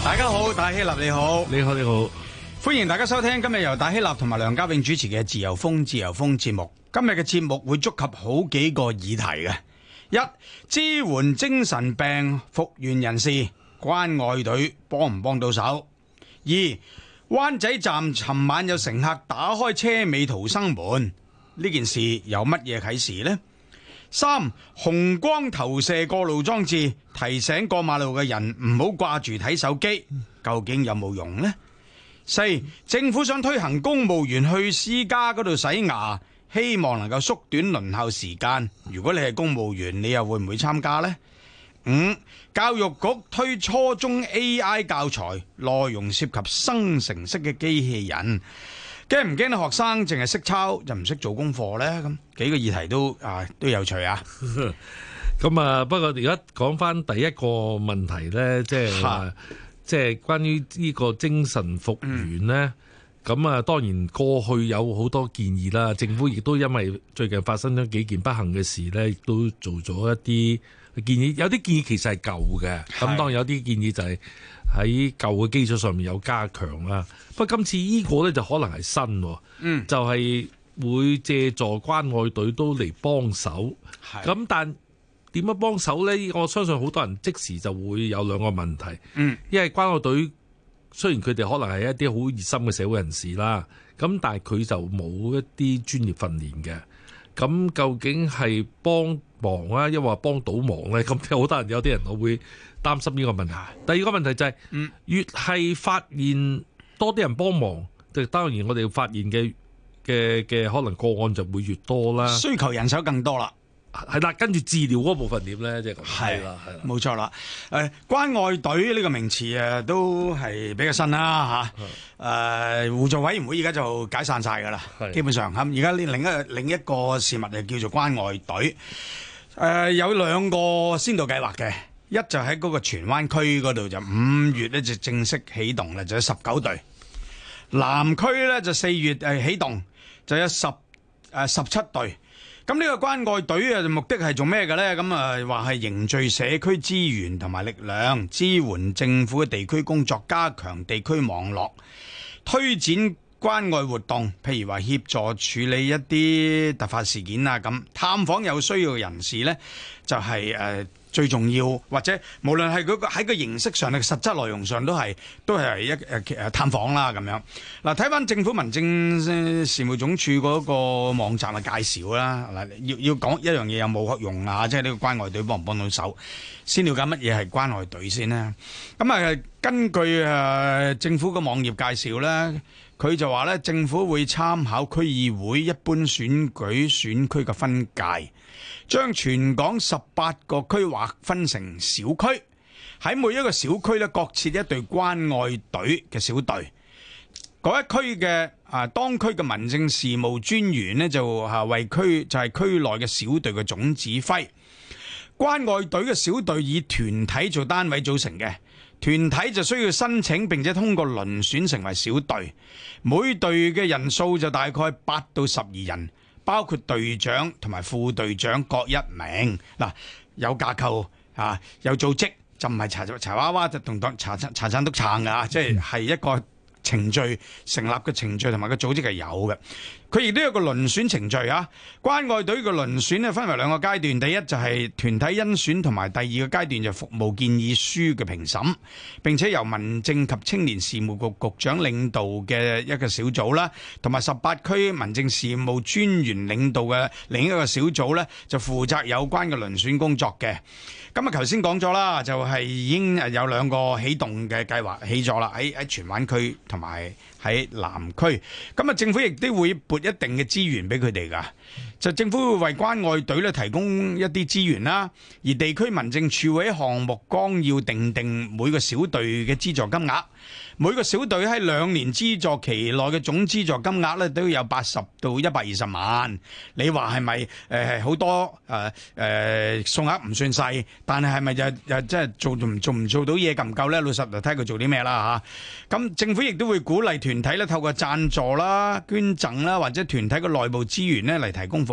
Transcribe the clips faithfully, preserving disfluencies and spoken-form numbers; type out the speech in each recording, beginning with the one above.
大家好，戴希立你好， 你好你好， 歡迎大家收聽今日由戴希立同埋梁家永主持嘅自由風自由風節目。今日嘅節目會觸及好幾個議題嘅。一、支援精神病復原人士，關愛隊幫唔幫到手？二、灣仔站尋晚有乘客打開車尾逃生門，呢件事有乜嘢啟示呢？三、紅光投射過路裝置提醒過馬路嘅人唔好掛住睇手機，究竟有冇用呢？四、政府想推行公務員去私家嗰度洗牙，希望能夠縮短輪候時間。如果你係公務員，你又會唔會參加呢？五、教育局推初中 A I 教材，內容涉及生成式嘅機器人。驚唔驚啲學生淨係識抄就唔識做功課呢？咁幾個議題都啊都有趣啊！ 咁啊，不過而家講翻第一個問題呢，即係即係關於呢個精神復原呢。咁、嗯、啊，當然過去有好多建議啦，政府亦都因為最近發生咗幾件不幸嘅事呢，亦都做咗一啲建議。有啲建議其實係舊嘅，咁當然有啲建議就係喺舊嘅基礎上面有加強啦。不過今次呢個呢，就可能係新，嗯，就係會借助關愛隊都嚟幫手。咁但點樣幫手呢？我相信好多人即時就會有兩個問題。嗯，因為關愛隊雖然佢哋可能係一啲好熱心嘅社會人士啦，咁但係佢就冇一啲專業訓練嘅。咁究竟係幫忙啊，抑或幫倒忙呢？咁好多人有啲人我會擔心呢個問題。第二個問題就係、是，嗯、越係發現多啲人幫忙，就當然我哋發現嘅嘅嘅可能個案就會越多啦。 需求人手更多啦。 係啦，跟住治療嗰部分點咧？即係係啦，係啦，冇錯啦。誒，關愛隊呢個名詞誒都係比較新啦嚇。誒，互助委員會而家就解散晒㗎啦，基本上嚇。而家呢另一個另一個事物就叫做關愛隊。誒，有兩個先導計劃嘅，一就喺嗰個荃灣區嗰度就五月咧就正式起動啦，就有十九隊。南區咧就四月誒起動，就有十誒十七隊。咁呢個關愛隊啊，目的係做咩嘅呢？咁啊，話係凝聚社區資源同埋力量，支援政府嘅地區工作，加強地區網絡，推展關愛活動，譬如話協助處理一啲突發事件啊，咁探訪有需要嘅人士呢，就係、是、誒。呃最重要，或者無論係嗰個喺個形式上、嘅實質內容上，都係都係一誒誒探訪啦咁樣。嗱，睇翻政府民政事務總署嗰個網站嘅介紹啦。嗱，要要講一樣嘢有冇用啊？即係呢個關愛隊幫唔幫到手？先了解乜嘢係關愛隊先啦。咁啊，根據誒政府個網頁介紹咧，佢就話咧，政府會參考區議會一般選舉選區嘅分界，將全港十八個區劃分成小區，喺每一個小區咧各設一隊關愛隊嘅小隊。嗰一區嘅啊，當區嘅民政事務專員呢，就啊為區就係、是、區內嘅小隊嘅總指揮。關愛隊嘅小隊以團體做單位組成嘅，團體就需要申請並且通過遴選成為小隊，每隊嘅人數就大概八到十二人。包括隊長同埋副隊長各一名。嗱，有架構啊，有組織，就唔係查查娃娃就同查查產督撐㗎，即係係一個程序成立嘅程序同埋個組織係有嘅。佢亦都有個遴選程序啊。關愛隊嘅遴選咧分為兩個階段，第一就係團體甄選，同埋第二個階段就服務建議書嘅評審，並且由民政及青年事務局局長領導嘅一個小組啦，同埋十八區民政事務專員領導嘅另一個小組呢，就負責有關嘅遴選工作嘅。咁啊，頭先講咗啦，就係已經有兩個啟動嘅計劃起咗啦，喺喺荃灣區同埋喺南區。咁啊，政府亦都會撥一定嘅資源俾佢哋噶。就政府會為關愛隊咧提供一啲資源啦，而地區民政處會喺項目綱要定定每個小隊嘅資助金額。每個小隊喺兩年資助期內嘅總資助金額咧都有八十到一百二十萬。你話係咪誒係好多誒誒數額唔算細，但係係咪就又即係做唔做唔做到嘢夠唔夠咧？老實就睇佢做啲咩啦嚇。咁政府亦都會鼓勵團體咧透過贊助啦、捐贈啦或者團體嘅內部資源咧嚟提供服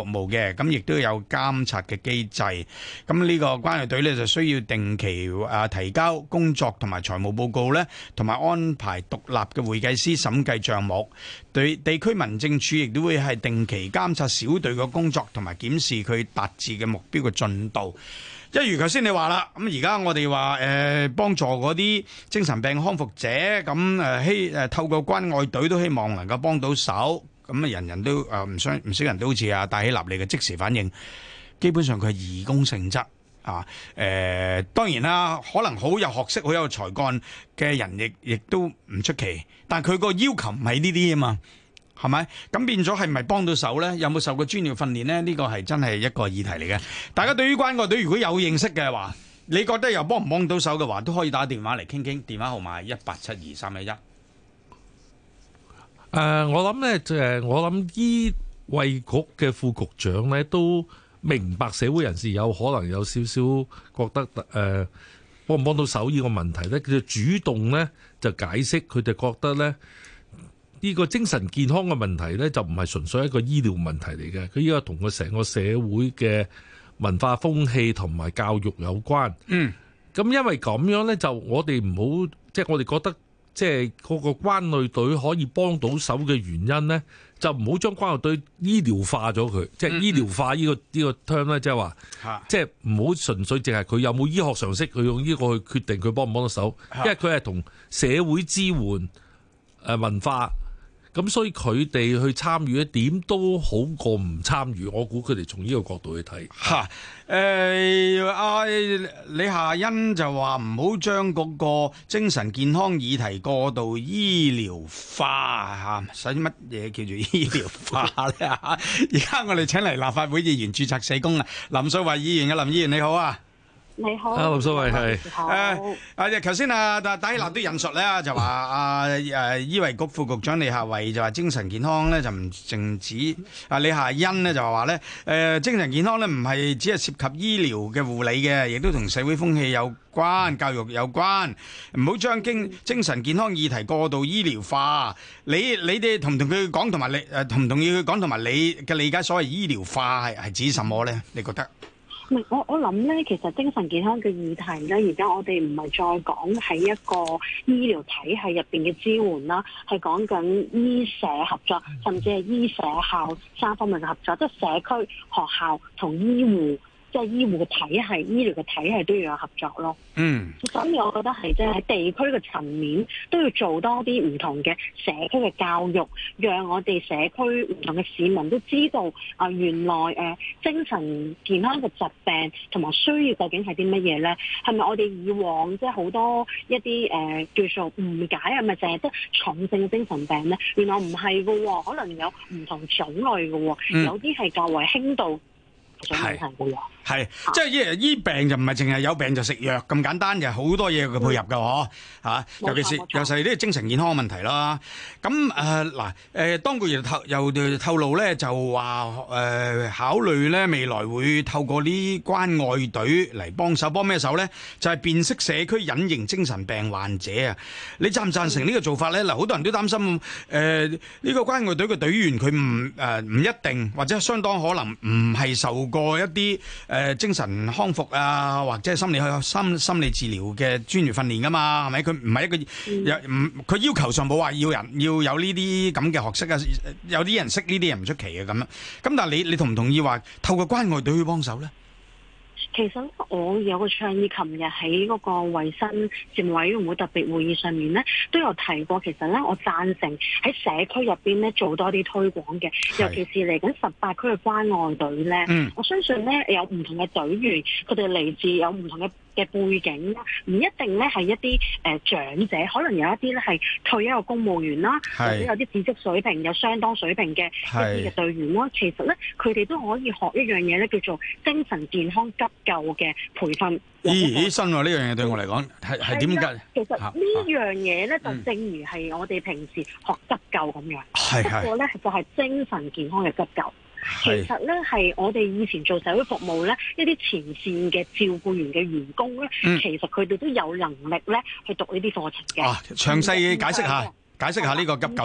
服務嘅，咁亦都有監察嘅機制。咁呢個關愛隊呢，就需要定期啊提交工作同埋財務報告呢，同埋安排獨立嘅會計師審計帳目。對地區民政處亦都會係定期監察小隊嘅工作，同埋檢視佢達至嘅目標嘅進度。一如頭先你話啦，咁而家我哋話誒幫助嗰啲精神病康復者，咁誒希誒透過關愛隊都希望能夠幫到手，咁啊人人都誒唔想唔少人都好似啊戴喜立利嘅即時反應，基本上佢係義工性質啊。誒、呃、當然啦，可能好有學識、好有才幹嘅人亦亦都唔出奇，但係佢個要求唔係呢啲啊嘛。係咪？咁變咗係咪幫到手呢？有冇受過專業訓練呢？呢個係真係一個議題嚟嘅。大家對於關愛隊如果有認識嘅話，你覺得又幫唔幫到手嘅話，都可以打電話嚟傾傾。電話號碼係一八七二三一一。誒， 我諗呢，就係我諗醫衛局嘅副局長呢，都明白社會人士有可能有少少覺得誒、呃、幫唔幫到手呢個問題呢，佢就主動呢就解釋，佢就覺得呢。呢個精神健康嘅問題呢，就唔係純粹一個醫療問題嚟嘅，佢依家同個成個社會嘅文化風氣同埋教育有關。嗯，咁因為咁樣呢，就我哋唔好，即係我哋覺得，即係嗰個關愛隊可以幫到手嘅原因呢，就唔好將關愛隊醫療化咗佢，即係醫療化呢個呢個 term 呢，即係話，即係唔好純粹淨係佢有冇醫學常識，佢用呢個去決定佢幫唔幫到手，因為佢係同社會支援誒文化。咁所以佢哋去參與一點都好過唔參與，我估佢哋從呢個角度去睇。 嚇，誒阿李夏茵就話唔好將嗰個精神健康議題過度醫療化嚇，使乜嘢叫做醫療化咧嚇？而家我哋請嚟立法會議員註冊社工啊，林素蔚議員嘅，林議員你好啊！ 你好， 啊，林素蔚係誒啊！頭先啊，戴戴喜立都引述咧，就話啊誒醫衞局副局長李夏蔚就話精神健康咧就唔淨止啊，李夏茵呢就話咧誒精神健康咧唔係只係涉及醫療嘅護理嘅，亦都同社會風氣有關、教育有關，唔好將經精神健康議題過度醫療化。你你哋同唔同佢講，同埋你誒同唔同意佢講，同埋你嘅理解所謂醫療化係係指什麼咧？你覺得？ 我我諗咧，其實精神健康嘅議題咧，而家我哋唔係再講喺一個醫療體系入邊嘅支援啦，係講緊醫社合作，甚至係醫社校三方面嘅合作，即係社區、學校同醫護。即係醫護嘅體系、醫療嘅體系都要有合作咯。嗯，所以我覺得係即係喺地區嘅層面都要做多啲唔同嘅社區嘅教育，讓我哋社區唔同嘅市民都知道啊、呃，原來誒、呃、精神健康嘅疾病同埋需要究竟係啲乜嘢咧？係咪我哋以往即係好多一啲誒、呃、叫做誤解，係咪淨係得重症嘅精神病咧？原來唔係㗎喎，可能有唔同種類㗎喎，嗯、有啲係較為輕度。係係，即係醫醫病就唔係淨係有病就食藥咁簡單，就係好多嘢佢配合㗎嗬嚇。尤其是尤其是啲精神健康嘅問題啦。咁誒嗱誒，當局又透又透露咧，就話誒、呃、考慮咧未來會透過啲關愛隊嚟幫手，幫咩手咧？就係、是、辨識社區隱形精神病患者啊！你贊唔贊成呢個做法咧？嗱，好多人都擔心誒呢、呃這個關愛隊嘅隊員佢唔誒唔一定或者相當可能唔係受過一啲誒、呃、精神康復啊，或者係心理心心理治療嘅專業訓練噶嘛，係咪？佢唔係一個有唔佢要求上冇話要人要有呢啲咁嘅學識啊，有啲人識呢啲人唔出奇嘅咁樣。咁但係你你同唔同意話透過關愛隊去幫手咧？ 其實我有個倡議，琴日喺嗰個衞生事務委員會特別會議上面咧，都有提過。其實咧，我贊成喺社區入邊咧做多啲推廣嘅，尤其是嚟緊十八區嘅關愛隊咧。嗯、我相信咧有唔同嘅隊員，佢哋嚟自有唔同嘅嘅背景啦，唔一定咧係一啲誒、呃、長者，可能有一啲咧係退休嘅公務員啦，或者有啲知識水平有相當水平嘅一啲嘅隊員啦。其實咧，佢哋都可以學一樣嘢咧，叫做精神健康急救嘅培訓。 咦，新喎呢樣嘢對我嚟講係係點解？ 其實呢樣嘢咧，就正如係我哋平時學急救咁樣， 係不過咧就係、是、精神健康嘅急救。其實咧係我哋以前做社會服務咧，一啲前線嘅照顧員嘅員工咧，嗯、其實佢哋都有能力咧去讀呢啲課程嘅。啊， 詳細解釋下，解釋下呢個急救嚇。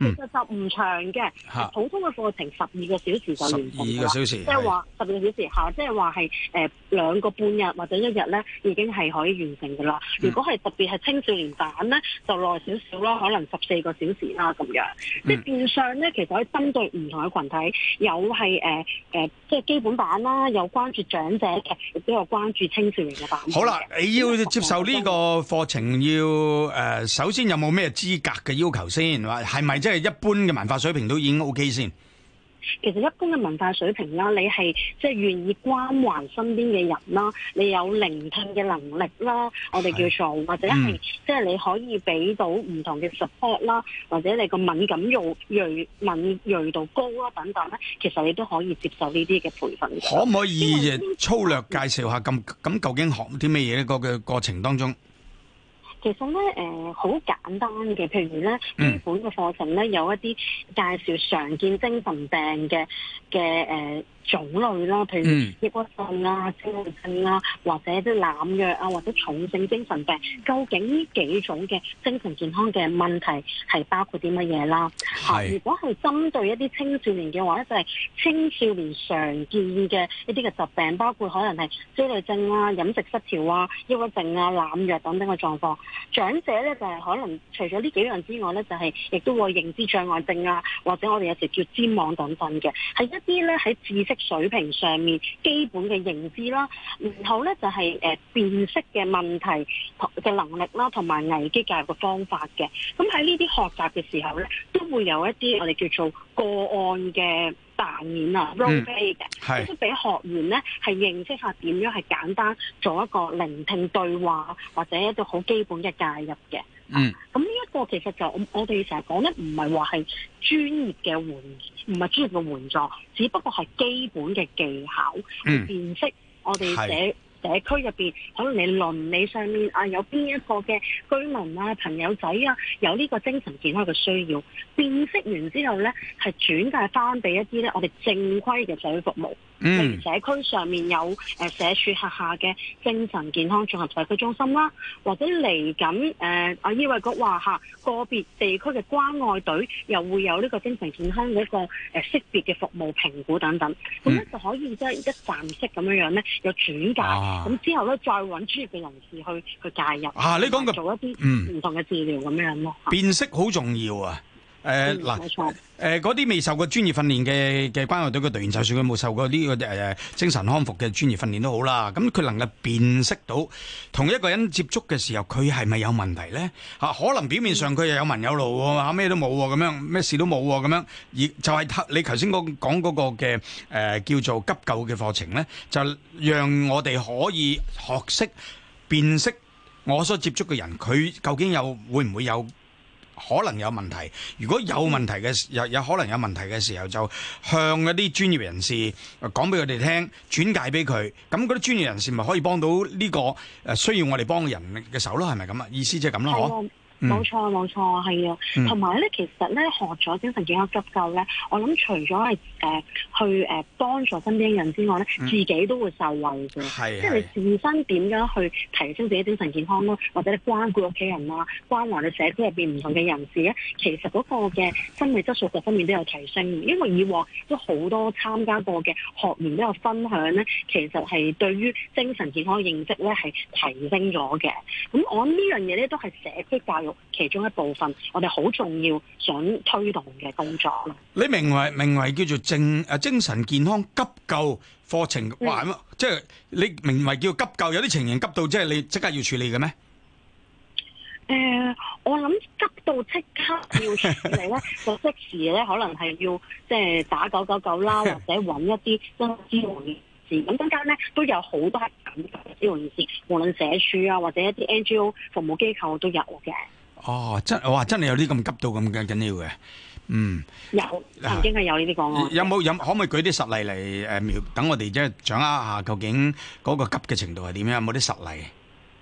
其實就唔長嘅，普通嘅課程十二個小時就完成十二個小時， 即係話十二個小時嚇，即係話係誒兩個半日或者一日咧，已經係可以完成㗎啦。嗯、如果係特別係青少年版咧，就耐少少啦，可能十四個小時啦咁樣。嗯、即係變相咧，其實可以針對唔同嘅群體，有係誒誒，即係基本版啦，有關注長者嘅，亦都有關注青少年嘅版。好啦， 你要接受呢個課程要誒、呃，首先有冇咩資格嘅要求先？話係咪即係一般嘅文化水平都已經 OK 先？ 其實一般嘅文化水平啦，你係即係願意關懷身邊嘅人啦，你有聆聽嘅能力啦，我哋叫做或者係、嗯、即係你可以俾到唔同嘅 support 啦，或者你個敏感度鋭敏鋭度高啦等等咧，其實你都可以接受呢啲嘅培訓。 可唔可以粗略介紹下咁咁究竟學啲咩嘢呢？個嘅過程當中？ 其實咧，誒、呃、好簡單嘅，譬如咧，基本嘅課程咧，有一啲介紹常見精神病嘅嘅誒種類啦，譬如抑鬱症啊、焦慮症啊，或者啲濫藥啊，或者重症精神病，究竟呢幾種嘅精神健康嘅問題係包括啲乜嘢啦？嚇，如果係針對一啲青少年嘅話咧，就係、是、青少年常見嘅一啲嘅疾病，包括可能係焦慮症啊、飲食失調啊、抑鬱症啊、濫藥等等嘅狀況。長者咧就係、是、可能除咗呢幾樣之外咧，就係、是、亦都會認知障礙症啊，或者我哋有時叫譫妄等等嘅，係一啲咧喺知識水平上面基本嘅認知啦。然後咧就係、是、誒、呃、辨識嘅問題嘅能力啦，同埋危機介入嘅方法嘅。咁喺呢啲學習嘅時候咧，都會有一啲我哋叫做個案嘅扮演啊 role play 嘅，即係俾學員咧係認識下點樣係簡單做一個聆聽對話，或者一個好基本嘅介入嘅。嗯，咁呢一個其實就我我哋成日講咧，唔係話係專業嘅援，唔係專業嘅援助，只不過係基本嘅技巧去辨識我哋社社區入邊，可能你鄰里上面啊有邊一個嘅居民啊朋友仔啊有呢個精神健康嘅需要，辨識完之後咧係轉介翻俾一啲咧我哋正規嘅社會服務。嗯，社區上面有誒社署轄下嘅精神健康綜合社區中心啦，或者嚟緊誒啊醫衞局話嚇個別地區嘅關愛隊又會有呢個精神健康嗰個誒識別嘅服務評估等等，咁咧、嗯、就可以即係一站式咁樣樣咧，有轉介，咁、啊、之後咧再揾專業嘅人士去去介入啊，你講嘅做一啲唔同嘅治療咁樣咯。 辨識好重要啊！誒嗱，誒嗰啲未受過專業訓練嘅嘅關愛隊嘅隊員，就算佢冇受過呢個誒精神康復嘅專業訓練都好啦。咁佢能夠辨識到同一個人接觸嘅時候，佢係咪有問題咧？嚇，可能表面上佢又有紋有路喎，嚇咩都冇喎，咁樣咩事都冇喎，咁樣而就係你頭先講講嗰個嘅誒叫做急救嘅課程咧，就讓我哋可以學識辨識我所接觸嘅人，佢究竟有會唔會有可能有問題？如果有問題嘅有有可能有問題嘅時候，就向一啲專業人士講俾佢哋聽，轉介俾佢。咁嗰啲專業人士咪可以幫到呢個誒需要我哋幫嘅人嘅手咯？係咪咁啊？意思即係咁咯？嗬。 冇錯冇錯，係啊，同埋咧，其實咧學咗精神健康急救咧，我諗除咗係誒去誒幫助身邊嘅人之外咧，嗯、自己都會受惠嘅。係，即係你自身點樣去提升自己精神健康咯，或者你關顧屋企人啊，關懷你社區入邊唔同嘅人士咧，其實嗰個嘅心理質素各方面都有提升。因為以往都好多參加過嘅學員都有分享咧，其實係對於精神健康嘅認識咧係提升咗嘅。咁我諗呢樣嘢咧都係社區教育其中一部分，我哋好重要想推動嘅工作咯。 你名為名為叫做精誒精神健康急救課程，嗯、哇！即係你名為叫急救，有啲情形急到即係你即刻要處理嘅咩？ 誒、呃，我諗急到即刻要處理咧，就即時咧可能係要即係打九九九啦，或者揾一啲真支援人士。咁中間咧都有好多係咁嘅支援人士，無論社署啊或者一啲 N G O 服務機構都有嘅。 哦，真哇，真係有啲咁急到咁緊緊要嘅，嗯， 有曾經係有呢啲個案。 有冇有可唔可以舉啲實例嚟誒描？等我哋即係掌握下究竟嗰個急嘅程度係點樣？有冇啲實例？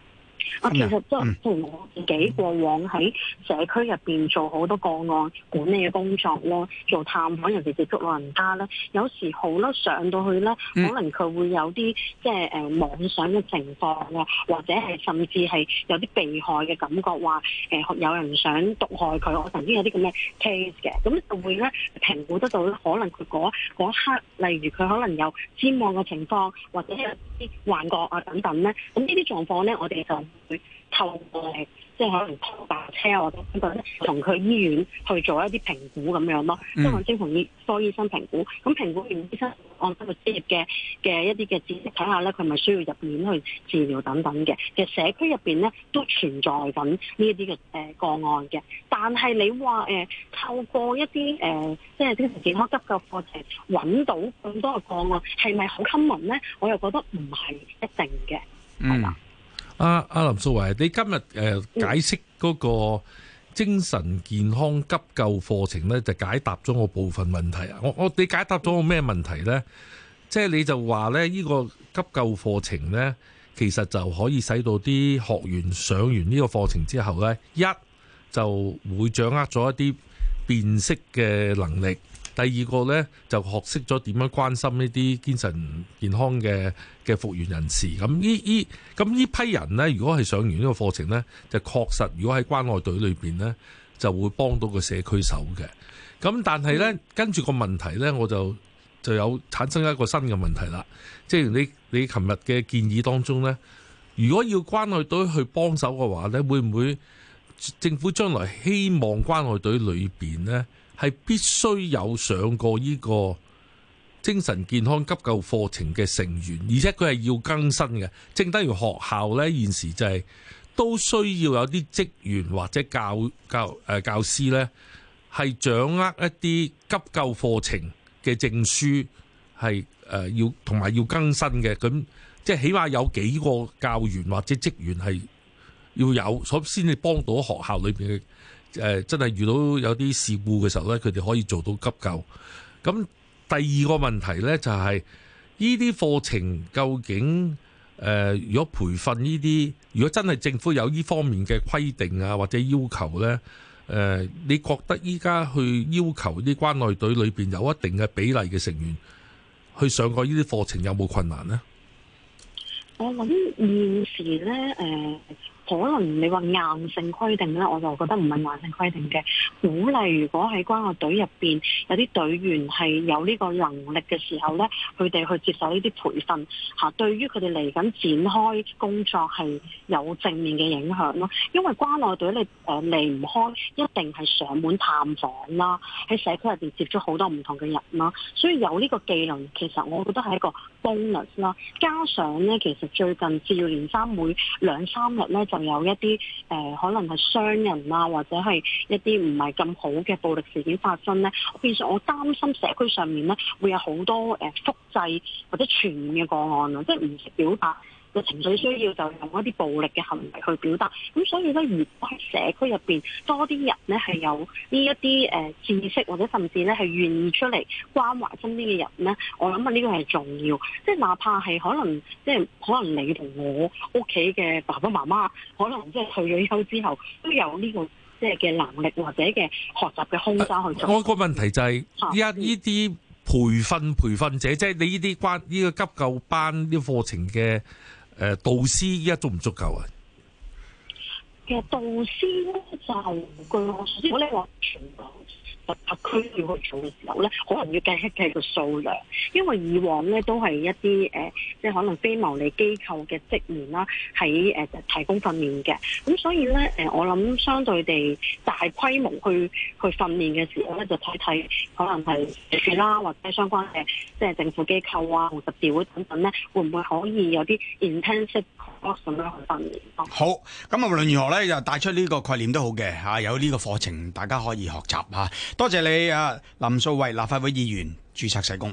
啊，其實即係譬如我自己過往喺社區入邊做好多個案管理嘅工作咯，做探訪，尤其接觸老人家咧，有時好啦，上到去咧，可能佢會有啲即係誒妄想嘅情況啊，或者係甚至係有啲被害嘅感覺，話誒、呃、有人想毒害佢。我曾經有啲咁嘅 case 嘅，咁就會咧評估得到咧，可能佢嗰嗰刻，例如佢可能有瞻望嘅情況，或者有啲幻覺啊等等咧，咁呢啲狀況咧，我哋就會透過即係可能拖白車啊或者咁樣咧，同佢醫院去做一啲評估咁樣咯，即係揾精神科醫生評估。咁評估完醫生按翻個專業嘅嘅一啲嘅知識睇下咧，佢係咪需要入院去治療等等嘅。其實社區入邊咧都存在緊呢一啲嘅誒個案嘅。但係你話誒、呃、透過一啲誒、呃、即係精神健康急救課程揾到咁多嘅個案，係咪好 common 咧？我又覺得唔係一定嘅，係啦。 阿阿林素蔚，你今日誒、呃、解釋嗰個精神健康急救課程咧，就解答咗我部分問題啊！我我你解答咗我咩問題咧？即係你就話咧，呢個急救課程咧，其實就可以使到啲學員上完呢個課程之後咧，一就會掌握咗一啲辨識嘅能力。第二個呢，就學識咗點樣關心呢啲精神健康嘅嘅復原人士。咁呢呢咁呢批人呢，如果係上完呢個課程呢，就確實如果喺關愛隊裏邊呢，就會幫到個社區手嘅。咁但係呢，跟住個問題呢，我就就有產生一個新嘅問題啦。即係你你琴日嘅建議當中呢，如果要關愛隊去幫手嘅話呢，會唔會政府將來希望關愛隊裏邊呢，係必須有上過呢個精神健康急救課程嘅成員，而且佢係要更新嘅。正等於學校呢，現時就係、是、都需要有啲職員或者教教誒、呃、教師呢，係掌握一啲急救課程嘅證書，係誒、呃、要同埋要更新嘅。咁即係起碼有幾個教員或者職員係要有，所先至幫到學校裏邊嘅。誒、呃、真係遇到有啲事故嘅時候咧，佢哋可以做到急救。咁第二個問題咧就係呢啲課程究竟誒、呃，如果培訓呢啲，如果真係政府有呢方面嘅規定啊或者要求咧，誒、呃，你覺得依家去要求啲關愛隊裏邊有一定嘅比例嘅成員去上過呢啲課程，有冇困難呢？ 我諗現時咧誒。呃可能你話硬性規定咧，我就覺得唔係硬性規定嘅。鼓勵如果喺關愛隊入邊有啲隊員係有呢個能力嘅時候咧，佢哋去接受呢啲培訓嚇，對於佢哋嚟緊展開工作係有正面嘅影響咯。因為關愛隊你誒離唔開一定係上門探訪啦，喺社區入邊接觸好多唔同嘅人啦，所以有呢個技能其實我覺得係一個 bonus 啦。加上咧，其實最近接二連三每兩三日咧就有一啲誒、呃、可能係傷人啊，或者係一啲唔係咁好嘅暴力事件發生咧，變相我擔心社區上面咧會有好多誒、呃、複製或者傳染嘅個案啊，即係唔識表達嘅情緒需要就用一啲暴力嘅行為去表達。咁所以咧，如果喺社區入邊多啲人咧係有呢一啲誒知識，或者甚至咧係願意出嚟關懷身邊嘅人咧，我諗啊呢個係重要。即係哪怕係可能即係可能你同我屋企嘅爸爸媽媽，可能即係退咗休之後都有呢個即係嘅能力或者嘅學習嘅空間去做。 我個問題就係依家呢啲培訓培訓者，即係你呢啲關呢個急救班呢個課程嘅。誒導師依家足唔足夠啊？ 其實導師咧就據我所知，如果你話全港特區要去做嘅時候咧，可能要計一計個數量，因為以往咧都係一啲誒、呃，即係可能非牟利機構嘅職員啦，喺誒、呃、提供訓練嘅。咁所以咧誒、呃，我諗相對地大規模去去訓練嘅時候咧，就睇睇可能係社署啦，或者相關嘅即係政府機構啊、紅十字會等等咧，會唔會可以有啲 intensive course 咁樣去訓練？ 好，咁啊無論如何咧，就帶出呢個概念都好嘅嚇，有呢個課程大家可以學習嚇。多謝你啊，林素蔚，立法會議員，註冊社工。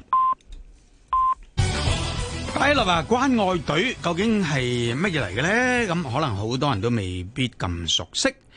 第一啦啊，關愛隊究竟係乜嘢嚟嘅咧？咁可能好多人都未必咁熟悉。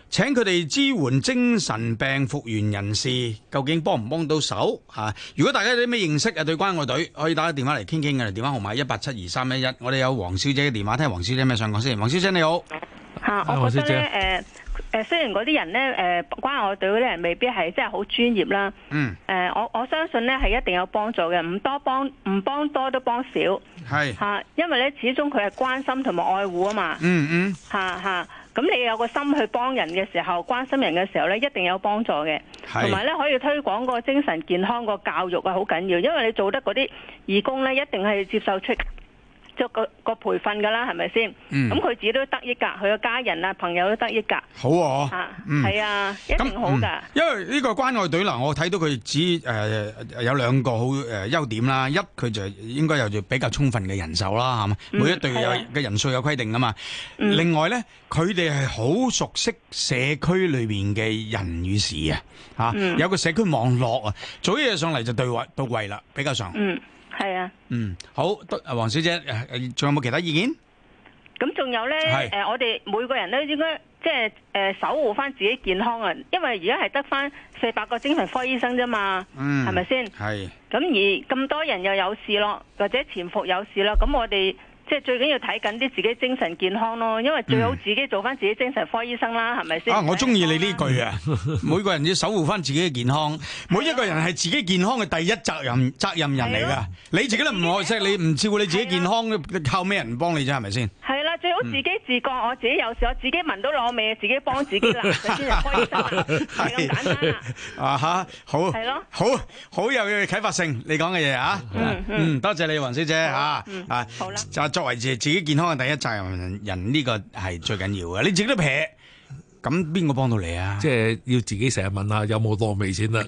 請佢哋支援精神病復原人士，究竟幫唔幫到手嚇？如果大家有啲咩認識啊，對關愛隊可以打個電話嚟傾傾嘅，電話號碼一八七二三一一。我哋有黃小姐嘅電話，聽黃小姐咩想講先。黃小姐你好， 嚇，我覺得咧誒誒，雖然嗰啲人咧誒關愛隊嗰啲人未必係真係好專業啦，嗯，誒我我相信咧係一定有幫助嘅，唔多幫唔幫多都幫少，係嚇，因為咧始終佢係關心同埋愛護啊嘛，嗯嗯，嚇嚇。咁你有個心去幫人嘅時候，關心人嘅時候咧，一定有幫助嘅。同埋咧，可以推廣個精神健康個教育啊，好緊要。因為你做得嗰啲義工咧，一定係接受出即個個培訓噶啦，係咪先？咁佢、嗯、自己都得益噶，佢嘅家人啊、朋友都得益噶。好啊，嚇，係啊，一定好噶、嗯。 因為呢個關愛隊嗱，我睇到佢只誒、呃、有兩個好誒優點啦。一，佢就應該有比較充分嘅人手啦，係嘛？嗯、每一隊有嘅人數有規定噶嘛。嗯、另外咧，佢哋係好熟悉社區裏邊嘅人與事啊，嚇、嗯，有個社區網絡啊，做嘢上嚟就對位到位啦，比較上。嗯。 係啊， 嗯，好，得黃小姐，仲有冇其他意見？ 咁仲有咧，誒、呃，我哋每個人都應該即係誒守護翻自己健康啊，因為而家係得翻四百個精神科醫生啫嘛，嗯，係咪先？係。咁而咁多人又有事咯，或者潛伏有事咯，咁我哋。即係最緊要睇緊啲自己精神健康咯，因為最好自己做翻自己精神科醫生啦，係咪先？啊，我中意你呢句啊！每個人要守護翻自己嘅健康，每一個人係自己健康嘅第一責任責任人嚟㗎。你自己都唔愛惜，你唔照顧你自己健康，靠咩人幫你啫？係咪先？係啦，最好自己自覺，我自己有事，我自己聞到攞味，自己幫自己啦，就精神科醫生啦，係咁簡單啦。啊嚇，好，係咯，好好有啟發性，你講嘅嘢啊，嗯嗯，多謝你黃小姐嚇，啊，好啦，就。作為自自己健康嘅第一責任人，呢個係最緊要嘅。你自己都撇，咁邊個幫到你啊？即係要自己成日問下有冇落味先得。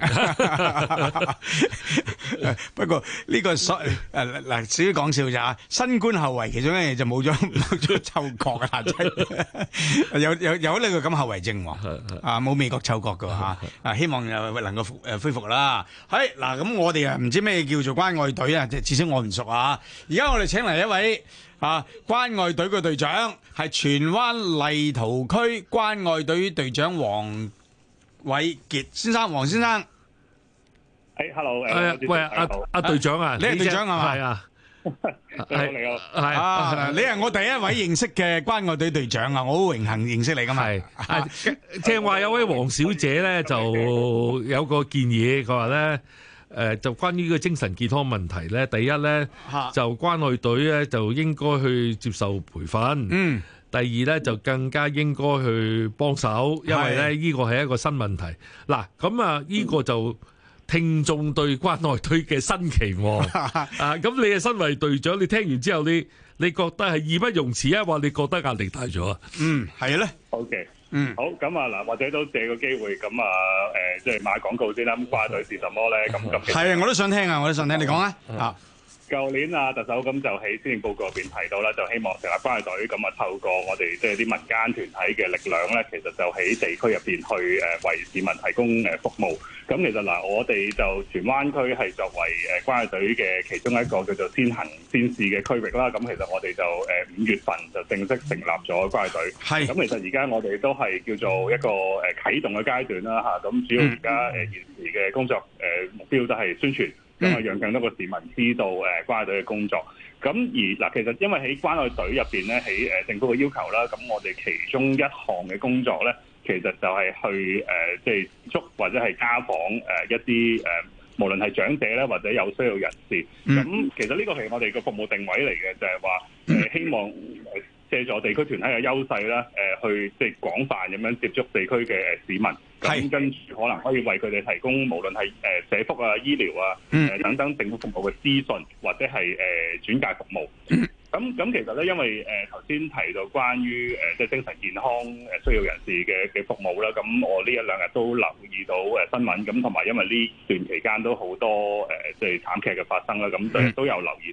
不過呢個所誒嗱，少啲講笑咋？新冠後遺其中一樣嘢就冇咗冇咗嗅覺啊！真有有有呢個咁後遺症喎，啊冇味覺嗅覺㗎嚇啊！希望又能夠誒恢復啦。係嗱，咁我哋啊唔知咩叫做關愛隊啊，即係至少我唔熟啊。而家我哋請嚟一位。啊！關愛隊嘅隊長係荃灣麗圖區關愛隊隊長黃偉傑先生，黃先生。誒、 hey,，hello，誒、 uh, 喂，阿阿隊長啊， 你係隊長係嘛？ 係啊， 係你好，係啊，你係我第一位認識嘅關愛隊隊長啊，我好榮幸認識你噶嘛。係， 正話有位黃小姐咧，就有個建議，佢話咧。誒、呃、就關於個精神健康問題咧，第一咧就關愛隊咧就應該去接受培訓，嗯，第二咧就更加應該去幫手，因為咧呢個係一個新問題。嗱，咁啊呢個就聽眾對關愛隊嘅新期望啊，咁你係身為隊長，你聽完之後你你覺得係義不容辭啊，或你覺得壓力大咗啊？嗯，係咧。 OK。嗯，好，咁啊嗱，或者都借個機會，咁啊，誒、呃，即係買廣告先啦。咁關愛隊是什麼咧？咁咁係啊，我都想聽啊，我都想聽，你講啊。啊， 舊年啊，特首咁就喺施政報告入邊提到啦，就希望成立關愛隊，咁啊透過我哋即係啲民間團體嘅力量咧，其實就喺地區入邊去誒為市民提供誒服務。咁其實嗱，我哋就荃灣區係作為誒關愛隊嘅其中一個叫做先行先試嘅區域啦。咁其實我哋就誒五月份就正式成立咗關愛隊。係。咁其實而家我哋都係叫做一個誒啟動嘅階段啦嚇。咁主要而家誒現時嘅工作誒目標都係宣傳，咁啊讓更多嘅市民知道誒關愛隊嘅工作。咁而嗱，其實因為喺關愛隊入邊咧，喺誒政府嘅要求啦，咁我哋其中一項嘅工作咧。其實就係去誒，即係接觸或者係家訪誒一啲誒，無論係長者咧，或者有需要人士。咁、嗯、其實呢個係我哋嘅服務定位嚟嘅，就係話誒希望借助地區團體嘅優勢啦，誒去即係廣泛咁樣接觸地區嘅誒市民。咁跟住可能可以為佢哋提供無論係誒社福啊、醫療啊、誒等等政府服務嘅資訊，或者係誒轉介服務。咁咁其實咧，因為誒頭先提到關於誒即係精神健康誒需要人士嘅嘅服務啦，咁我呢一兩日都留意到誒新聞，咁同埋因為呢段期間都好多誒即係慘劇嘅發生啦，咁都都有留意到。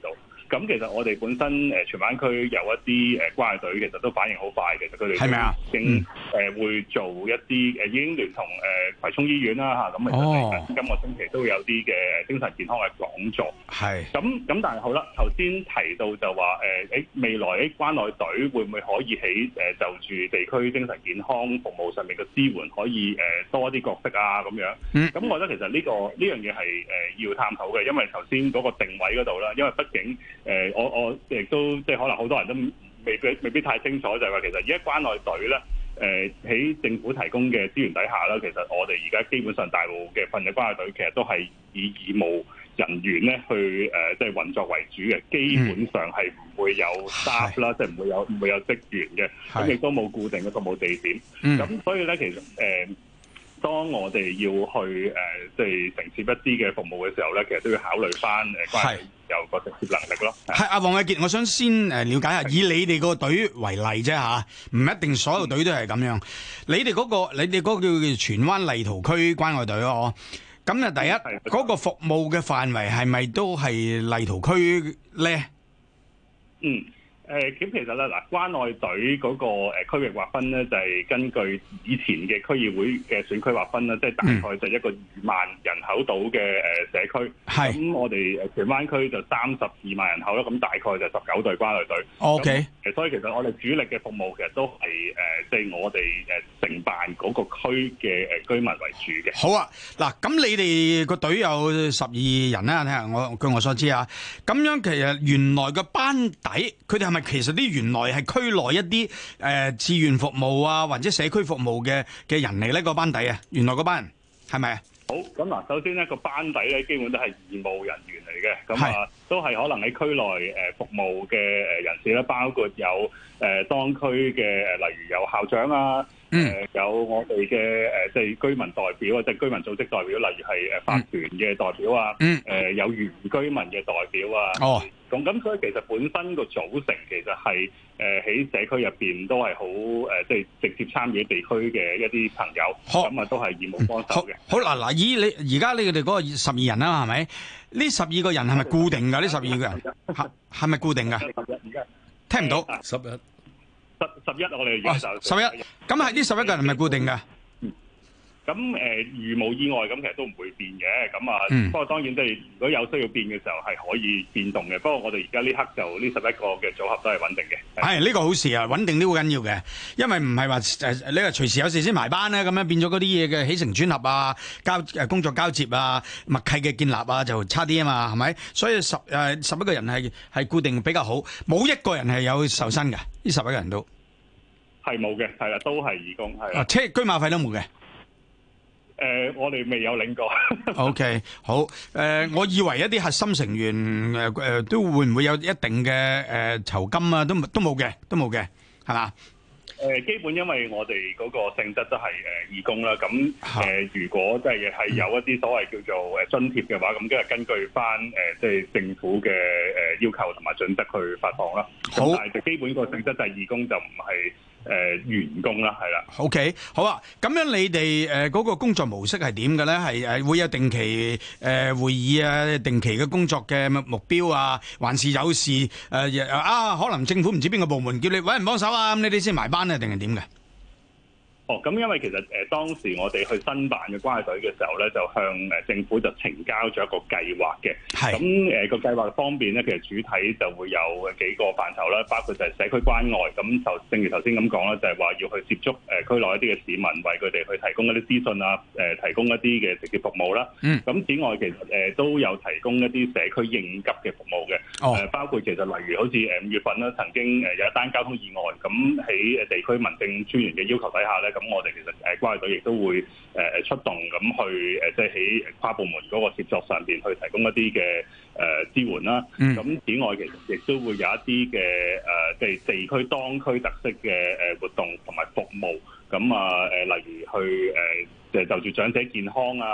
咁其實我哋本身誒荃灣區有一啲誒關愛隊，其實都反應好快嘅，其實佢哋係咪啊？ 已經誒會做一啲誒已經聯同誒葵涌醫院啦嚇，咁其實今個星期都有啲嘅精神健康嘅講座。 係。 咁咁但係好啦，頭先提到就話誒誒未來誒關愛隊會唔會可以喺誒就住地區精神健康服務上面嘅支援可以誒多啲角色啊咁樣？嗯。咁我覺得其實呢個呢樣嘢係誒要探討嘅，因為頭先嗰個定位嗰度啦，因為畢竟誒我我亦都即係可能好多人都未必未必太清楚，就係話其實而家關愛隊咧誒喺政府提供嘅資源底下啦，其實我哋而家基本上大部嘅份嘅關愛隊其實都係以義務人員咧去誒即係運作為主嘅，基本上係唔會有 staff 啦，即係唔會有唔會有職員嘅，咁亦都冇固定嘅服務地點。咁、嗯、所以咧，其實誒、呃，當我哋要去誒即係承接一啲嘅服務嘅時候咧，其實都要考慮翻誒關係有個直接能力咯。 係阿黃偉傑，我想先誒了解下，以你哋個隊為例啫嚇，唔一定所有隊都係咁樣。你哋嗰、嗰個你哋嗰個叫荃灣麗圖區關愛隊咯。咁啊，第一嗰、嗰個服務嘅範圍係咪都係麗圖區咧？ 嗯。誒咁其實咧嗱，關愛隊嗰個誒區域劃分咧，就係根據以前嘅區議會嘅選區劃分啦，即係大概就一個二萬人口到嘅誒社區。係。咁我哋誒荃灣區就三十二萬人口啦，咁大概就十九隊關愛隊。O K。誒，所以其實我哋主力嘅服務其實都係誒，即係我哋誒承辦嗰個區嘅誒居民為主嘅。 好啊，嗱，咁你哋個隊有十二人啦，睇下我據我所知啊，咁樣其實原來個班底，佢哋係咪？其實啲原來係區內一啲誒志願服務啊，或者社區服務嘅嘅人嚟呢個班底啊，原來嗰班人係咪啊？ 好，咁嗱，首先呢個班底咧，基本都係義務人員嚟嘅，咁啊都係可能喺區內誒服務嘅誒人士啦，包括有誒、呃、當區嘅誒，例如有校長啊。誒、嗯呃、有我哋嘅誒即係居民代表啊，即係居民組織代表，例如係誒法團嘅代表啊，誒、嗯呃、有原居民嘅代表啊。哦，咁咁所以其實本身個組成其實係誒喺社區入邊都係好誒，即係直接參與地區嘅一啲朋友，咁啊都係義務幫手嘅。好嗱嗱，以你而家你哋嗰個十二人啦，係咪？呢十二個人係咪固定㗎？呢十二個人係係咪固定㗎？聽唔到十一。十十一我哋而家就十一，咁係呢十一個人係咪固定㗎？ 咁誒、呃，如無意外咁，其實都唔會變嘅。咁啊、嗯，不過當然即係如果有需要變嘅時候係可以變動嘅。不過我哋而家呢刻就呢十一個嘅組合都係穩定嘅。 係呢、呢個好事啊，穩定都好緊要嘅，因為唔係話誒你話隨時有事先埋班咧，咁樣變咗嗰啲嘢嘅起承轉合啊、交誒工作交接啊、默契嘅建立啊，就差啲啊嘛，係咪？所以十誒、呃、十一個人係係固定比較好，冇一個人係有受薪嘅，呢十一個人都係冇嘅，係啦，都係義工，係啊，車居馬費都冇嘅。 誒、呃，我哋未有領過。 O、okay, K， 好。誒、呃，我以為一啲核心成員誒誒、呃、都會唔會有一定嘅誒、呃、酬金啊？都都冇嘅，都冇嘅，係嘛？ 誒、呃，基本因為我哋嗰個性質都係誒、呃、義工啦。咁誒、呃，如果即係係有一啲所謂叫做誒津貼嘅話，咁即係根據翻誒即係政府嘅誒要求同埋準則去發放啦。好，但係就基本個性質就係義工，就唔係。誒、呃、員工啦，係啦。OK， 好啊。咁樣你哋誒嗰個工作模式係點嘅咧？係誒會有定期誒、呃、會議啊，定期嘅工作嘅目標啊，還是有事誒、呃、啊？可能政府唔知邊個部門叫你揾人幫手啊，咁你哋先埋班啊，定係點嘅？哦，咁因為其實誒、呃、當時我哋去申辦嘅關愛隊嘅時候咧，就向誒政府就呈交咗一個計劃嘅。係。咁誒個計劃方面咧，其實主體就會有幾個範疇啦，包括就係社區關愛。咁就正如頭先咁講啦，就係、是、話要去接觸誒、呃、區內一啲嘅市民，為佢哋去提供一啲資訊啊，誒、呃、提供一啲嘅直接服務啦。嗯。咁此外，其實誒、呃、都有提供一啲社區應急嘅服務嘅。哦。誒、呃、包括其實例如好似誒五月份啦，曾經誒有一單交通意外，咁喺誒地區民政專員嘅要求底下咧。咁我哋其實誒關愛隊亦都會誒出動咁去誒，即係喺跨部門嗰個協作上邊去提供一啲嘅誒支援啦。咁、嗯、此外，其實亦都會有一啲嘅誒，即係地區當區特色嘅誒活動同埋服務。咁啊誒，例如去誒，就就住長者健康啊。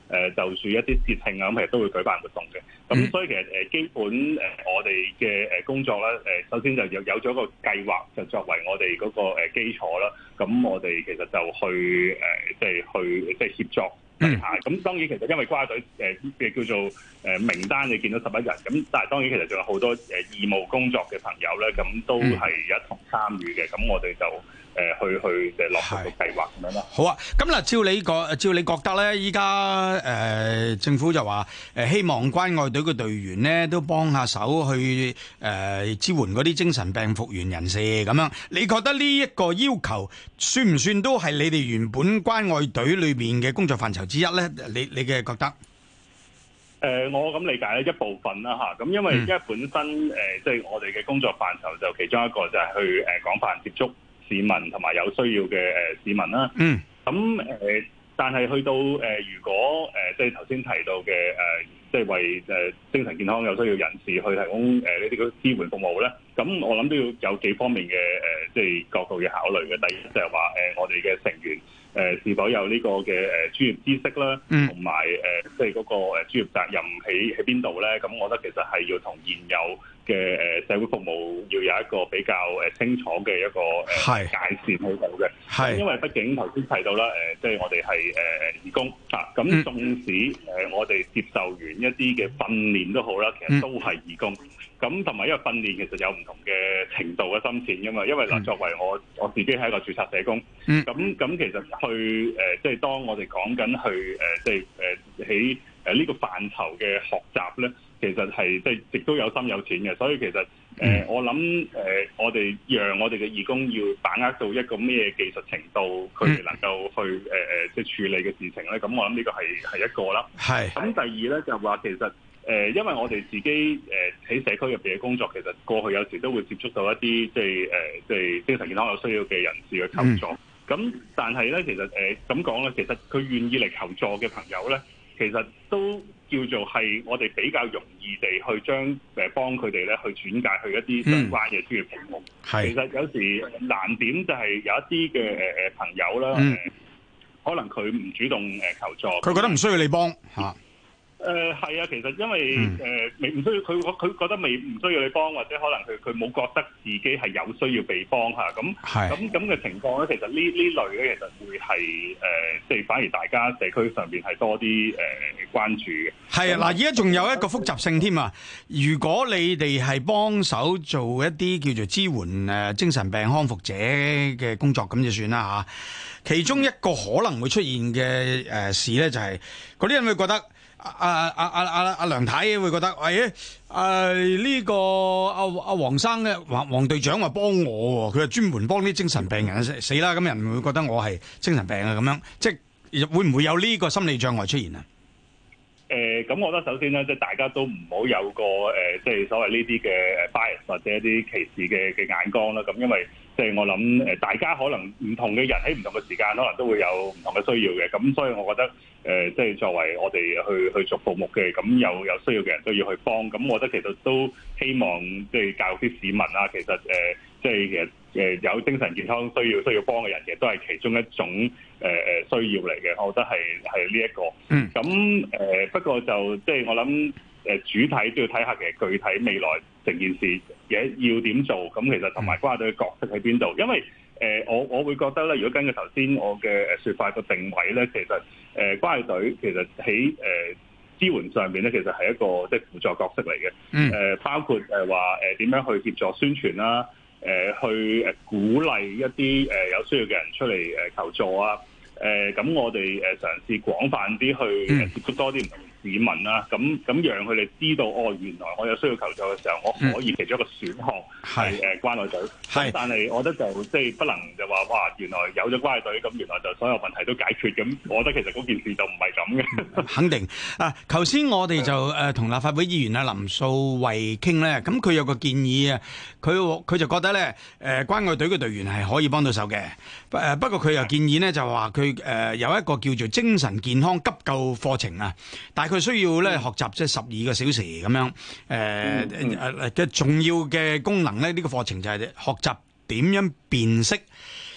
誒就住一啲節慶啊，咁其實都會舉辦活動嘅。咁所以其實誒基本誒我哋嘅誒工作咧，誒首先就有有咗個計劃，就作為我哋嗰個誒基礎啦。咁我哋其實就去誒即係去即係協作。底下咁當然其實因為關愛隊誒嘅叫做誒名單你見到十一人，咁但係當然其實仲有好多誒義務工作嘅朋友咧，咁都係一同參與嘅，咁我哋就誒去去誒落實個計劃咁樣咯。 好啊，咁嗱，照你覺照你覺得咧，依家誒政府就話誒希望關愛隊嘅隊員咧都幫下手去誒支援嗰啲精神病復原人士咁樣，你覺得呢一個要求算唔算都係你哋原本關愛隊裏邊嘅工作範疇之一咧？你你嘅覺得？ 誒、呃，我咁理解咧一部分啦嚇，咁因為因為本身誒即係我哋嘅工作範疇就其中一個就係去誒廣泛接觸市民同埋有需要嘅誒市民啦。嗯。咁誒、呃，但係去到誒、呃，如果誒即係頭先提到嘅誒，即、呃、係、就是、為誒精神健康有需要人士去提供誒呢啲嘅支援服務咧，咁我諗都要有幾方面嘅誒，即、呃、係、就是、角度要考慮嘅。第一就係話誒，我哋嘅成員。誒是否有呢個嘅誒專業知識啦，同埋誒即係嗰個誒專業責任喺喺邊度咧？咁我覺得其實係要同現有嘅誒社會服務要有一個比較誒清楚嘅一個誒界線喺度嘅。係，因為畢竟頭先提到啦，誒即係我哋係誒義工嚇，咁縱使誒我哋接受完一啲嘅訓練都好啦，其實都係義工。咁同埋因為訓練其實有唔同嘅程度嘅深淺㗎嘛，因為嗱作為我我自己係一個註冊社工，咁、嗯、咁其實去誒即係當我哋講緊去誒即係誒喺誒呢個範疇嘅學習咧，其實係即係亦都有深有淺嘅，所以其實誒、呃、我諗誒、呃、我哋讓我哋嘅義工要把握到一個咩技術程度，佢哋能夠去誒誒即係處理嘅事情咧，咁我諗呢個係係一個啦。係。咁第二咧就話其實。誒，因為我哋自己誒喺社區入邊嘅工作，其實過去有時都會接觸到一啲即係誒即係精神健康有需要嘅人士嘅求助。咁、嗯、但係咧，其實誒咁講咧，其實佢願意嚟求助嘅朋友咧，其實都叫做係我哋比較容易地去將誒幫佢哋咧去轉介去一啲相關嘅專業服務。係、嗯，其實有時難點就係有一啲嘅誒誒朋友啦，嗯、可能佢唔主動誒求助， 佢覺得唔需要你幫嚇。 誒係啊，其實因為誒未唔需要佢，佢覺得未唔需要你幫，或者可能佢佢冇覺得自己係有需要被幫嚇，咁咁咁嘅情況咧，其實呢呢類咧，其實會係誒即係反而大家社區上邊係多啲誒、呃、關注嘅。係啊，嗱，而家仲有一個複雜性添啊！如果你哋係幫手做一啲叫做支援誒精神病康復者嘅工作，咁就算啦嚇。其中一個可能會出現嘅誒事咧，就係嗰啲人會覺得。阿阿阿阿阿梁太會覺得，喂、哎，誒、啊、呢、這個阿阿黃生咧，黃黃隊長話幫我，佢係專門幫啲精神病人死啦，咁人會覺得我係精神病啊，咁樣，即係會唔會有呢個心理障礙出現啊？誒、呃，咁我覺得首先咧，即係大家都唔好有個誒、呃，即係所謂呢啲嘅 bias 或者一啲歧視嘅嘅眼光啦。咁因為即係我諗誒，大家可能唔同嘅人喺唔同嘅時間，可能都會有唔同嘅需要嘅。咁所以我覺得誒、呃，即係作為我哋去去做服務嘅，咁有有需要嘅人都要去幫。咁我覺得其實都希望即係教育啲市民啦。其實誒、呃，即係其實誒有精神健康需要需要幫嘅人，其實都係其中一種誒誒、呃、需要嚟嘅。我覺得係係呢一個。嗯。咁誒、呃，不過就即係我諗。誒主體都要睇下其實具體未來成件事嘢要點做，咁其實同埋關愛隊嘅角色喺邊度？因為誒、呃、我我會覺得咧，如果根據頭先我嘅誒説法個定位咧，其實誒、呃、關愛隊其實喺誒、呃、支援上邊咧，其實係一個即係輔助角色嚟嘅。誒、嗯呃、包括誒話誒點樣去協助宣傳啦，誒、呃、去誒鼓勵一啲誒有需要嘅人出嚟誒求助啊。誒、呃、咁我哋誒嘗試廣泛啲去接觸多啲唔同市民啦，咁咁讓佢哋知道哦，原來我有需要求助嘅時候，我可以其中一個選項係誒關愛隊。係，但係我覺得就即係不能就話哇，原來有咗關愛隊，咁原來就所有問題都解決。咁我覺得其實嗰件事就唔係咁嘅。肯定啊！頭先我哋就誒同立法會議員啊林素蔚傾咧，咁佢有個建議啊，佢佢就覺得咧誒關愛隊嘅隊員係可以幫到手嘅。誒不過佢又建議咧就話佢誒有一個叫做精神健康急救課程啊，大概需要咧學習即係十二個小時咁樣，誒誒嘅重要嘅功能咧，呢個課程就係學習點樣辨識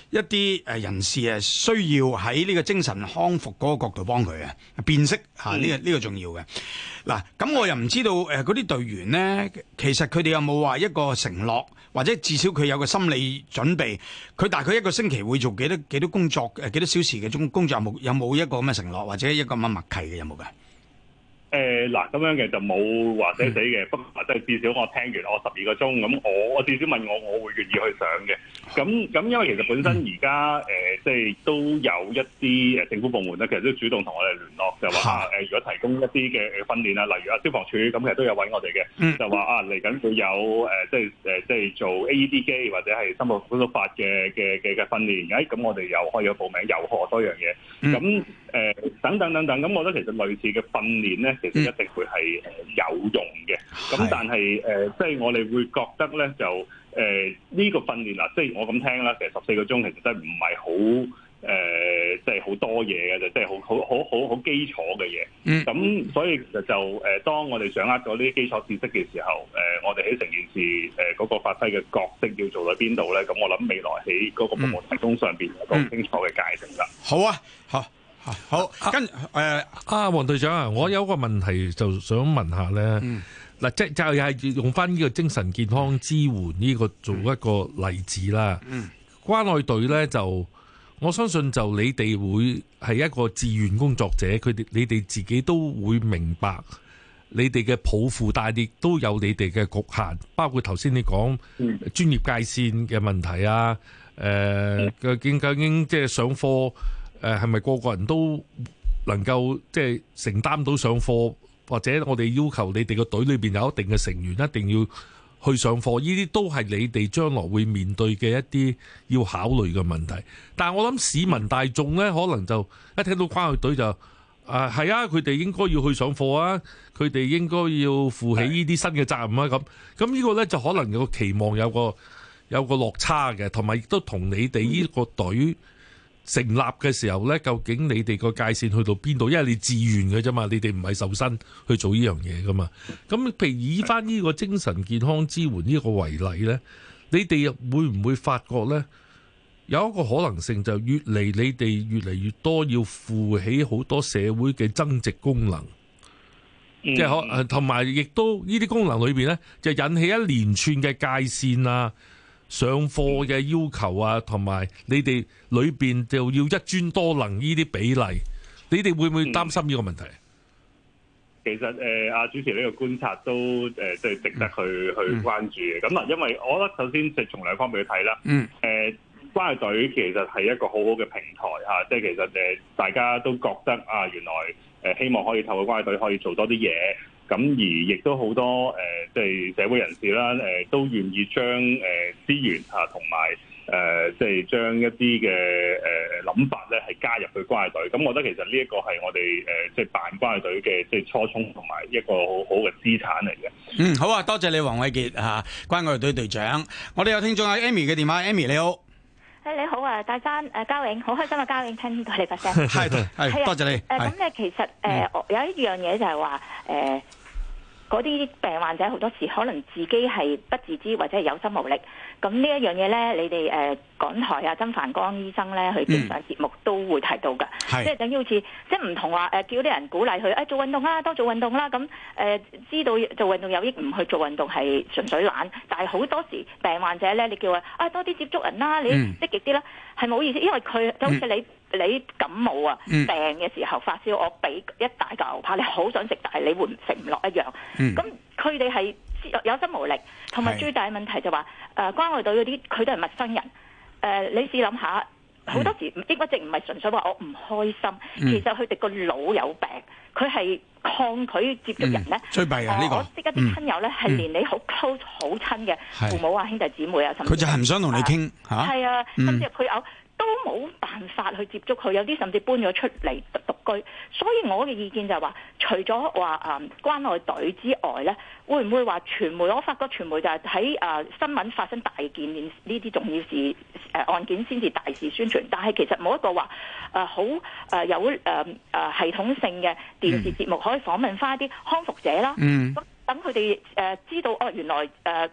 一啲誒人士誒需要喺呢個精神康復嗰個角度幫佢啊，辨識嚇呢個呢個重要嘅。嗱，咁我又唔知道誒嗰啲隊員呢，其實佢哋有冇話一個承諾，或者至少佢有個心理準備，佢大概一個星期會做幾多幾多工作誒幾多小時嘅工工作，有冇有冇一個咁嘅承諾，或者一個咁嘅默契嘅有冇㗎？ 誒嗱咁樣嘅就冇話寫死嘅，不過即係至少我聽完我十二個鐘，咁我我至少問我，我會願意去上嘅。咁咁因為其實本身而家誒即係都有一啲誒政府部門咧，其實都主動同我哋聯絡，就話誒如果提供一啲嘅訓練啊，例如啊消防處咁，其實都有揾我哋嘅，嗯、就話啊嚟緊會有誒即係誒即係做 A E D 機或者係心肺復甦法嘅嘅嘅嘅訓練，誒咁我哋又可以有報名，又學多樣嘢，咁誒、呃、等等等等，咁我覺得其實類似嘅訓練咧。其實一定會係誒有用嘅，咁、嗯、但係誒，即、呃、係、就是、我哋會覺得咧，就誒呢、呃這個訓練嗱，即係我咁聽啦，其實十四個鐘其實真係唔係好誒，即係好多嘢嘅，就即係好好好好好基礎嘅嘢。嗯，咁所以其實就誒、呃，當我哋掌握咗呢啲基礎知識嘅時候，誒、呃，我哋喺成件事誒嗰、呃那個發揮嘅角色要做喺邊度咧？咁我諗未來喺嗰個服務提供上邊有個清楚嘅界定啦、嗯。好啊， 好。好，跟誒阿黃隊長啊，我有個問題就想問下咧。嗱、嗯，即係就係用翻呢個精神健康支援呢個做一個例子啦。嗯，關愛隊咧就我相信就你哋會係一個志願工作者，佢哋你哋自己都會明白你哋嘅抱負，但係亦都有你哋嘅局限，包括頭先你講專業界線嘅問題啊。誒、呃，究竟究竟即係上課。誒係咪個個人都能夠即係承擔到上課，或者我哋要求你哋個隊裏邊有一定嘅成員一定要去上課，呢啲都係你哋將來會面對嘅一啲要考慮嘅問題。但係我諗市民大眾呢，可能就一聽到關愛隊就啊係啊，佢哋應該要去上課啊，佢哋應該要負起呢啲新嘅責任啊，咁咁呢個呢，就可能有個期望有個有個落差嘅，同埋亦都同你哋呢個隊成立嘅時候呢，究竟你哋個界線去到邊度？因為你自願嘅啫嘛，你哋唔係受薪去做呢樣嘢噶嘛。咁譬如以翻呢個精神健康支援呢個為例呢，你哋會唔會發覺呢？有一個可能性就越嚟你哋越嚟越多要負起好多社會嘅增值功能，即係可同埋亦都呢啲功能裏邊呢，就引起一連串嘅界線啊。上課嘅要求啊，同埋你哋裏邊就要一專多能呢啲比例，你哋會唔會擔心呢個問題？ 嗯、其實誒，阿、呃、主持呢個觀察都誒，即、呃、係值得去、嗯、去關注嘅。咁啊，因為我覺得首先就從兩方面去睇啦。嗯。誒、呃，關愛隊其實係一個好好嘅平台嚇、啊，即係其實誒，大家都覺得啊，原來誒、呃、希望可以透過關愛隊可以做多啲嘢。咁而亦都好多誒，即係社會人士啦，誒都願意將誒資源嚇同埋誒，即係將一啲嘅誒諗法咧，係加入去關愛隊。咁我覺得其實呢一個係我哋誒即係辦關愛隊嘅即係初衷同埋一個好好嘅資產嚟嘅。嗯， 好啊，多謝你黃偉傑嚇，關愛隊隊長。我哋有聽眾阿 Amy 嘅電話 ，Amy 你好。 誒你好啊，大山誒嘉永，好開心啊，嘉永聽到你把聲。 係係，多謝你。誒咁咧，其實誒、呃嗯、有一樣嘢就係話誒。呃嗰啲病患者好多時可能自己係不自知或者係有心無力，咁呢一樣嘢咧，你哋誒、呃、港台啊曾繁光醫生咧去經常節目都會提到㗎，嗯、即係等於好似即係唔同話誒、呃、叫啲人鼓勵佢誒、哎、做運動啦，多做運動啦，咁誒、呃、知道做運動有益，唔去做運動係純粹懶，但係好多時病患者咧，你叫佢啊多啲接觸人啦，你積極啲啦，係冇、嗯、意思，因為佢就好似你。嗯你感冒啊，病嘅時候發燒，我俾一大嚿牛扒，你好想食，但係你會食唔落一樣。咁佢哋係有心無力，同埋最大嘅問題就話、是，誒、呃、關愛隊嗰啲佢都係陌生人。誒、呃，你試諗下，好多時抑鬱症唔係純粹話我唔開心，嗯、其實佢哋個腦有病，佢係抗拒接觸人咧。最弊啊！呢個我識一啲親友咧，係、嗯、連你好 close 好親嘅父母啊、兄弟姊妹啊，甚至佢就係唔想同你傾嚇。係啊，甚至佢有。都冇辦法去接觸佢，有啲甚至搬咗出嚟獨居。所以我嘅意見就係話，除咗話誒關愛隊之外咧，會唔會話傳媒？我發覺傳媒就係喺誒新聞發生大件呢啲重要事誒、呃、案件先至大肆宣傳，但係其實冇一個話誒好誒有誒誒、呃、系統性嘅電視節目可以訪問翻一啲康復者啦。咁等佢哋誒知道哦，原來誒。呃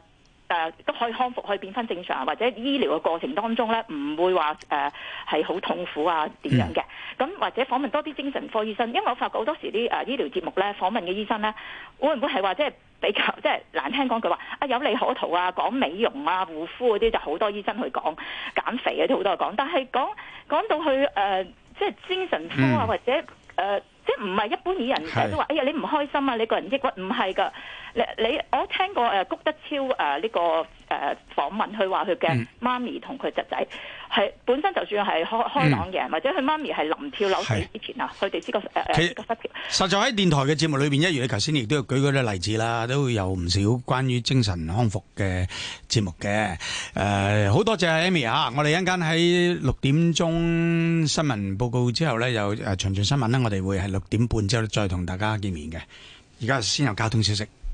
誒都可以康復，可以變翻正常，或者醫療嘅過程當中咧，唔會話誒係好痛苦啊點樣嘅。咁、嗯、或者訪問多啲精神科醫生，因為我發覺好多時啲誒醫療節目咧訪問嘅醫生咧，會唔會係話即係比較即係難聽講句話啊有利可圖啊，講美容啊、護膚嗰啲就好多醫生去講，減肥嗰啲好多人講，但係講講到去誒、呃、即係精神科啊、嗯、或者誒。呃即係唔係一般以人成日都話，哎呀你唔開心啊，你個人抑鬱，唔係㗎。你你我聽過誒谷德超誒呢、呃這個誒、呃、訪問，佢話佢嘅媽咪同佢侄仔係本身就算係開開朗嘅、嗯，或者佢媽咪係臨跳樓死之前啊，佢哋知個誒誒個失調。實在喺電台嘅節目裏邊，一如你頭先亦都有舉嗰啲例子啦，都會有唔少關於精神康復嘅節目嘅。誒、呃、好多謝 Amy 啊！我哋一陣間喺六點鐘新聞報告之後咧，有誒詳盡新聞咧，我哋會係六點半之後再同大家見面嘅。而家先有交通消息。